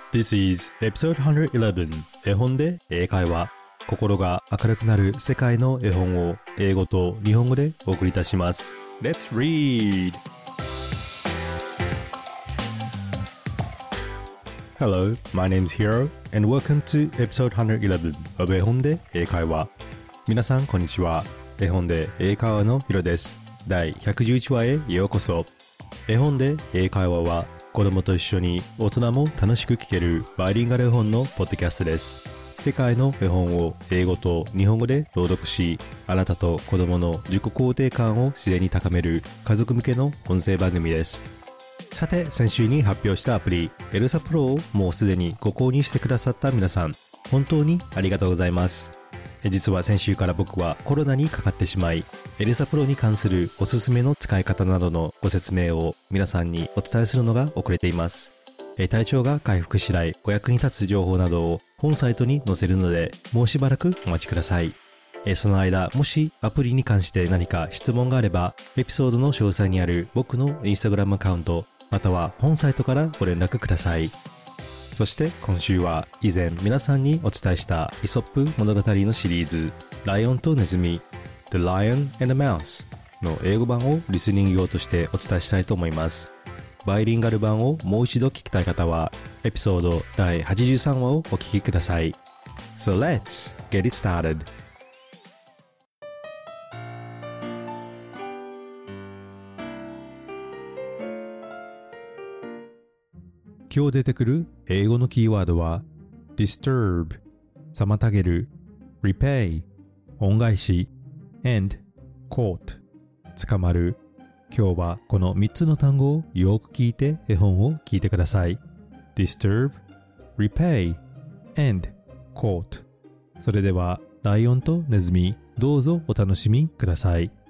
This is episode 111絵本で英会話心が明るくなる世界の絵本を英語と日本語でお送りいたします Let's read! Hello, my name is Hiro and welcome to episode 111 of 絵本で英会話皆さんこんにちは絵本で英会話のヒロです第111話へようこそ絵本で英会話は子供と一緒に大人も楽しく聞けるバイリンガル絵本のポッドキャストです。世界の絵本を英語と日本語で朗読し、あなたと子供の自己肯定感を自然に高める家族向けの音声番組です。さて、先週に発表したアプリ、エルサプロをもうすでにご購入してくださった皆さん、本当にありがとうございます。実は先週から僕はコロナにかかってしまい、エルサプロに関するおすすめの使い方などのご説明を皆さんにお伝えするのが遅れています。体調が回復次第お役に立つ情報などを本サイトに載せるので、もうしばらくお待ちください。その間、もしアプリに関して何か質問があれば、エピソードの詳細にある僕のインスタグラムアカウント、または本サイトからご連絡ください。そして今週は以前皆さんにお伝えしたイソップ物語のシリーズライオンとネズミ The Lion and the Mouse の英語版をリスニング用としてお伝えしたいと思います。バイリンガル版をもう一度聞きたい方はエピソード第83話をお聞きください。So let's get it started!今日出てくる英語のキーワードは disturb 妨げる repay 恩返し and caught 捕まる今日はこの3つの単語をよく聞いて絵本を聞いてください disturb, repay, and caught それではライオンとネズミどうぞお楽しみください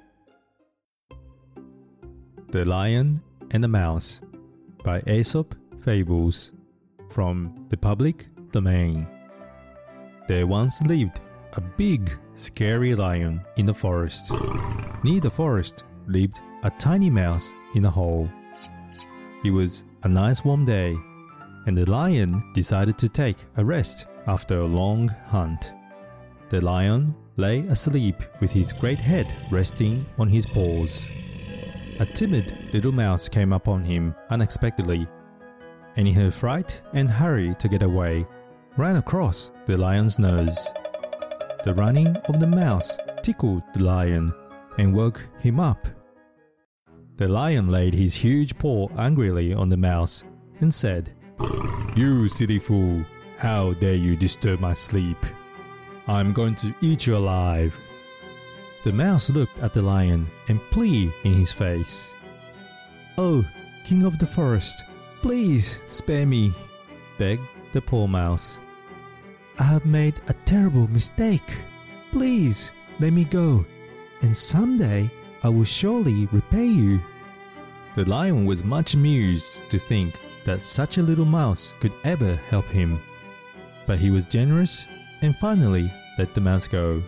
The Lion and the Mouse by Aesop Fables from the public domain. There once lived a big, scary lion in the forest. Near the forest lived a tiny mouse in a hole. It was a nice warm day, and the lion decided to take a rest after a long hunt. The lion lay asleep with his great head resting on his paws. A timid little mouse came upon him unexpectedly.And in her fright and hurry to get away, ran across the lion's nose. The running of the mouse tickled the lion and woke him up. The lion laid his huge paw angrily on the mouse and said, "You silly fool, how dare you disturb my sleep? I'm going to eat you alive." The mouse looked at the lion and pleaded in his face. "Oh, king of the forest,Please spare me," begged the poor mouse. "I have made a terrible mistake. Please let me go, and someday I will surely repay you." The lion was much amused to think that such a little mouse could ever help him. But he was generous and finally let the mouse go.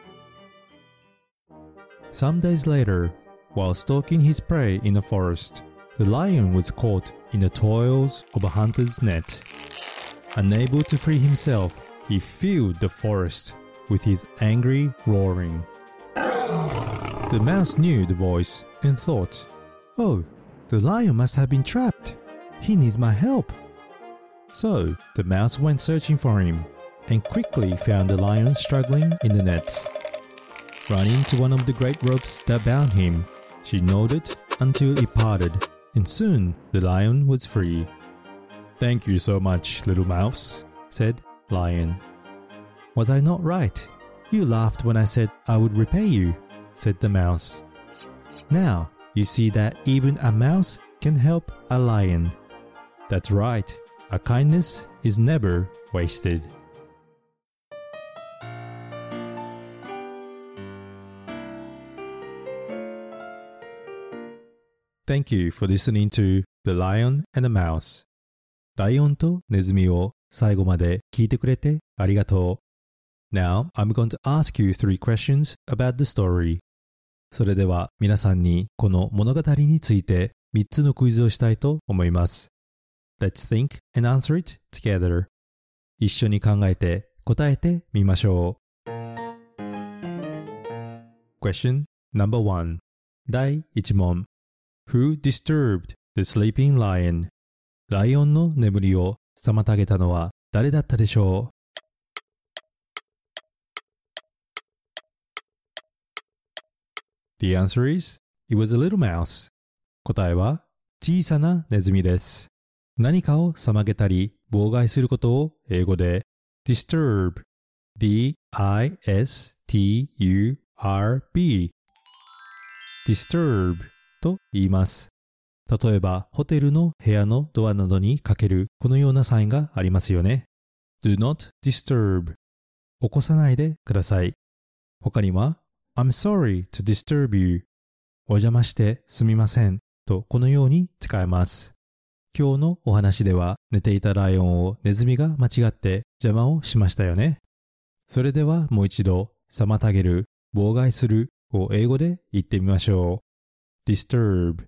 Some days later, while stalking his prey in the forest, the lion was caught in the toils of a hunter's net. Unable to free himself, he filled the forest with his angry roaring. The mouse knew the voice and thought, "Oh, the lion must have been trapped. He needs my help." So the mouse went searching for him and quickly found the lion struggling in the net. Running to one of the great ropes that bound him, she gnawed it until it parted.And soon the lion was free. "Thank you so much, little mouse," said Lion. "Was I not right? You laughed when I said I would repay you," said the mouse. "Now you see that even a mouse can help a lion. That's right, a kindness is never wasted." Thank you for listening to The Lion and the Mouse. ライオンとネズミを最後まで聞いてくれてありがとう。Now, I'm going to ask you 3 questions about the story. それでは皆さんにこの物語について3つのクイズをしたいと思います。 let's think and answer it together. 一緒に考えて答えてみましょう。Question number 1. 第1問。Who disturbed the sleeping lion? ライオンの眠りを妨げたのは誰だったでしょう？ The answer is, it was a little mouse. 答えは小さなネズミです。何かを妨げたり妨害することを英語で disturb, D-I-S-T-U-R-B, disturb と言います。例えばホテルの部屋のドアなどにかけるこのようなサインがありますよね。Do not disturb 起こさないでください。他には I'm sorry to disturb you お邪魔してすみませんとこのように使えます。今日のお話では寝ていたライオンをネズミが間違って邪魔をしましたよね。それではもう一度妨げる、妨害するを英語で言ってみましょう。disturb。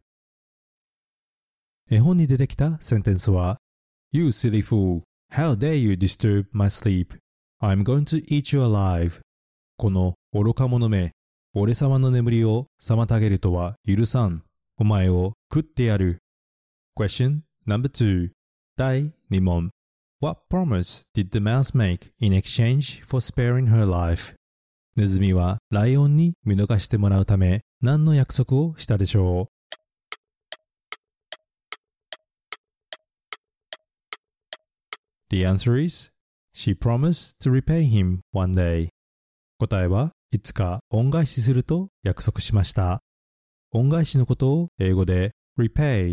絵本に出てきたセンテンスは You silly fool, how dare you disturb my sleep? I'm going to eat you alive. この愚か者め、俺様の眠りを妨げるとは許さん。お前を食ってやる。Question number 2. 第2問。What promise did the mouse make in exchange for sparing her life? ネズミはライオンに見逃してもらうため何の約束をしたでしょう？ The answer is, she promised to repay him one day. 答えはいつか恩返しすると約束しました。恩返しのことを英語で repay,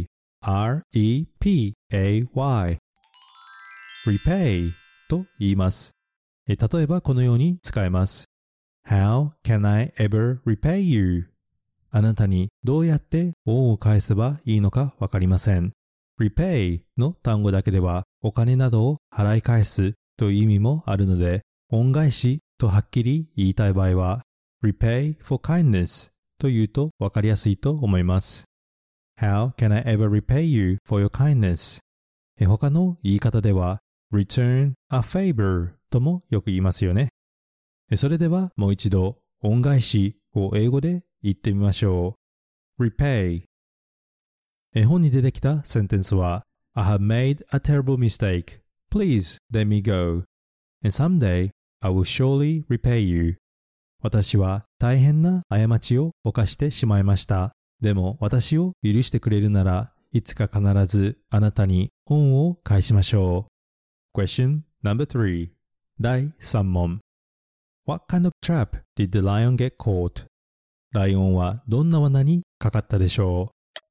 R-E-P-A-Y, repay と言います。例えばこのように使えます。How can I ever repay you? あなたにどうやって恩を返せばいいのかわかりません。repay の単語だけではお金などを払い返すという意味もあるので、恩返しとはっきり言いたい場合は repay for kindness と言うとわかりやすいと思います。How can I ever repay you for your kindness? 他の言い方では return a favor ともよく言いますよね。それではもう一度恩返しを英語で言ってみましょう。repay。絵本に出てきたセンテンスは I have made a terrible mistake. Please let me go. And someday I will surely repay you. 私は大変な過ちを犯してしまいました。でも私を許してくれるならいつか必ずあなたに恩を返しましょう。Question number 3. 第3問。What kind of trap did the lion get caught? ライオンはどんな罠にかかったでしょう？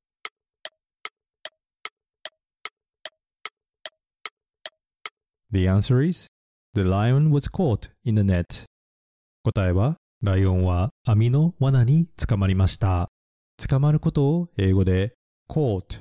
The answer is, the lion was caught in the net. 答えは、ライオンは網の罠に捕まりました。捕まることを英語で caught,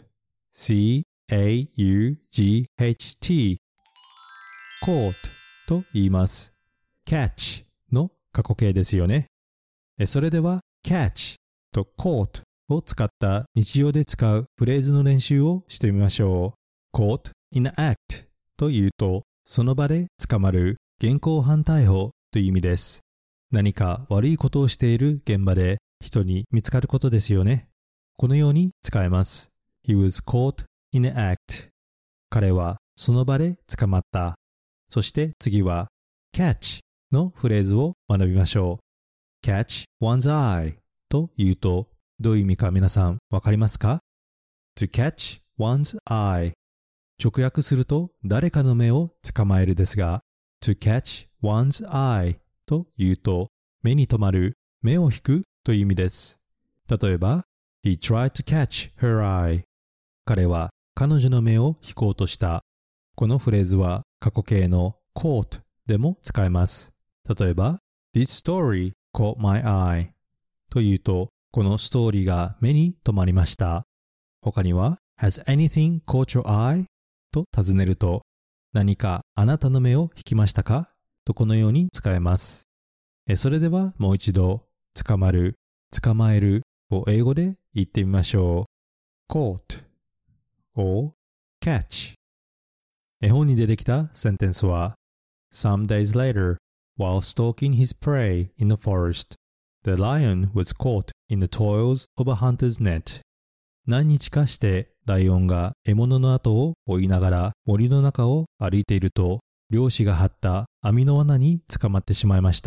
C-A-U-G-H-T, caught と言います。catch の過去形ですよね。それでは catch と caught を使った日常で使うフレーズの練習をしてみましょう。caught in an act というと、その場で捕まる、現行犯逮捕という意味です。何か悪いことをしている現場で人に見つかることですよね。このように使えます。He was caught in an act. 彼はその場で捕まった。そして次は catch のフレーズを学びましょう。catch one's eye というとどういう意味か皆さんわかりますか？ To catch one's eye。直訳すると誰かの目を捕まえるですが、to catch one's eye というと目に留まる、目を引くという意味です。例えば、He tried to catch her eye。彼は彼女の目を引こうとした。このフレーズは過去形の caught でも使えます。例えば、This story caught my eye というと、このストーリーが目に留まりました。他には、Has anything caught your eye? と尋ねると、何かあなたの目を引きましたか？とこのように使えます。それではもう一度、捕まる、捕まえるを英語で言ってみましょう。caught or catch 絵本に出てきたセンテンスは Some days later, while stalking his prey in the forest, the lion was caught in the toils of a hunter's net. 何日かしてライオンが獲物の後を追いながら森の中を歩いていると、猟師が張った網の罠に捕まってしまいました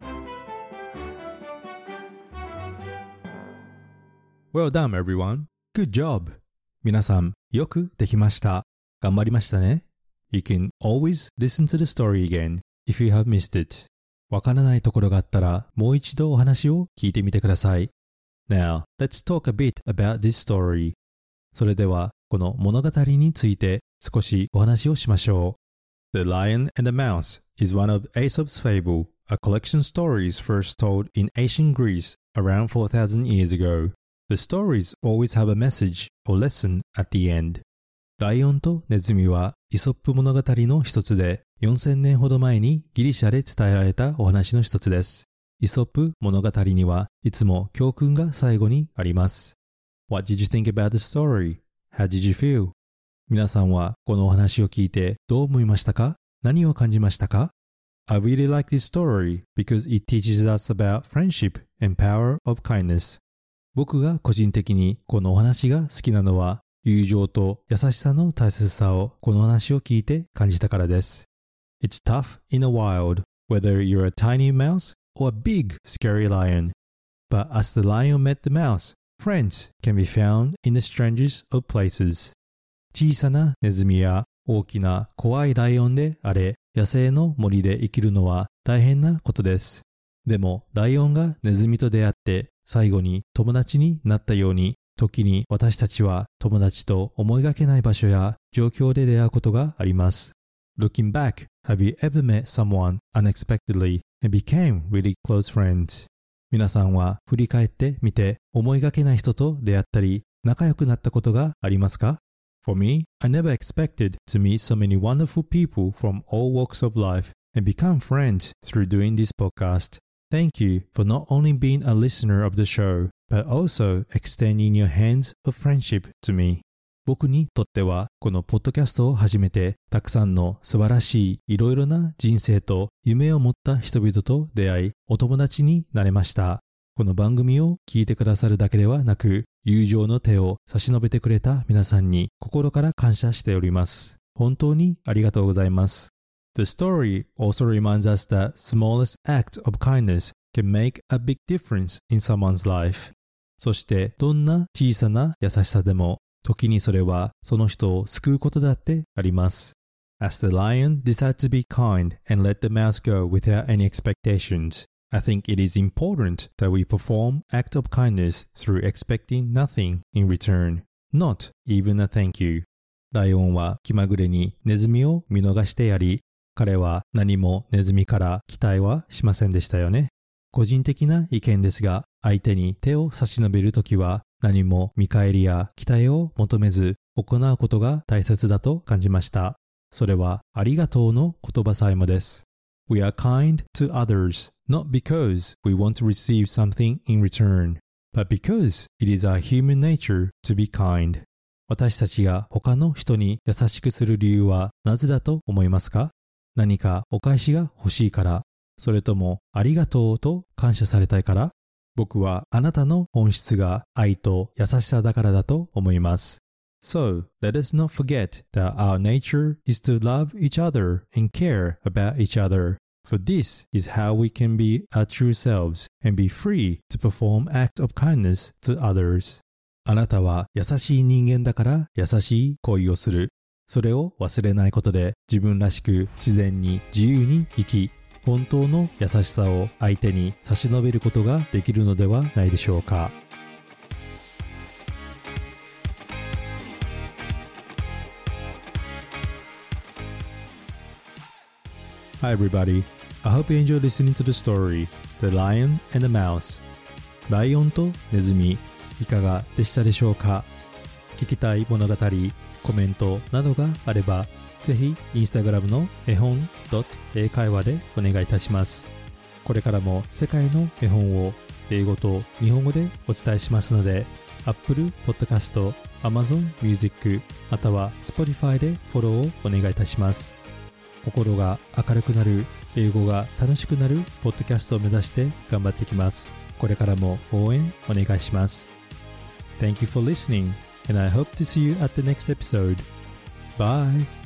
。Well done, everyone. Good job. 皆さん、よくできました。頑張りましたね。You can always listen to the story again if you have missed it. わからないところがあったら、もう一度お話を聞いてみてください。Now, let's talk a bit about this story. それでは、この物語について少しお話をしましょう。The Lion and the Mouse is one of Aesop's fable, a collection of stories first told in ancient Greece around 4,000 years ago.The stories always have a message or lesson at the end. ライオンとネズミはイソップ物語の一つで、4000年ほど前にギリシャで伝えられたお話の一つです。イソップ物語にはいつも教訓が最後にあります。What did you think about the story? How did you feel? 皆さんはこのお話を聞いてどう思いましたか？何を感じましたか？ I really like this story because it teaches us about friendship and power of kindness.僕が個人的にこのお話が好きなのは、友情と優しさの大切さをこの話を聞いて感じたからです。It's tough in the wild, whether you're a tiny mouse or a big, scary lion. But as the lion met the mouse, friends can be found in the strangest of places. 小さなネズミや大きな怖いライオンであれ、野生の森で生きるのは大変なことです。でも、ライオンがネズミと出会って、最後に友達になったように、時に私たちは友達と思いがけない場所や状況で出会うことがあります。Looking back, have you ever met someone unexpectedly and became really close friends? 皆さんは振り返ってみて思いがけない人と出会ったり仲良くなったことがありますか？ For me, I never expected to meet so many wonderful people from all walks of life and become friends through doing this podcast.Thank you for not only being a listener of the show, but also extending your hands of friendship to me. 僕にとってはこのポッドキャストを始めてたくさんの素晴らしいいろいろな人生と夢を持った人々と出会いお友達になれました。この番組を聞いてくださるだけではなく友情の手を差し伸べてくれた皆さんに心から感謝しております。本当にありがとうございます。The story also reminds us that smallest act of kindness can make a big difference in someone's life. そしてどんな小さな優しさでも時にそれはその人を救うことだってあります。As the lion decides to be kind and let the mouse go without any expectations, I think it is important that we perform acts of kindness through expecting nothing in return, not even a thank you. ライオンは気まぐれにネズミを見逃してやり、彼は何もネズミから期待はしませんでしたよね。個人的な意見ですが、相手に手を差し伸べるときは何も見返りや期待を求めず行うことが大切だと感じました。それはありがとうの言葉さえもです。We are kind to others, not because we want to receive something in return, but because it is our human nature to be kind. 私たちが他の人に優しくする理由はなぜだと思いますか？何かお返しが欲しいから、それともありがとうと感謝されたいから？僕はあなたの本質が愛と優しさだからだと思います。So, let us not forget that our nature is to love each other and care about each other. For this is how we can be our true selves and be free to perform acts of kindness to others. あなたは優しい人間だから優しい恋をする。それを忘れないことで自分らしく自然に自由に生き、本当の優しさを相手に差し伸べることができるのではないでしょうか。Hi everybody, I hope you enjoyed listening to the story, The Lion and the Mouse. ライオンとネズミ、いかがでしたでしょうか？聞きたい物語、コメントなどがあれば、ぜひインスタグラムの絵本英会話でお願いいたします。これからも世界の絵本を英語と日本語でお伝えしますので、Apple Podcast、 Amazon Music または Spotify でフォローをお願いいたします。心が明るくなる、英語が楽しくなるポッドキャストを目指して頑張っていきます。これからも応援お願いします。Thank you for listening and I hope to see you at the next episode. Bye!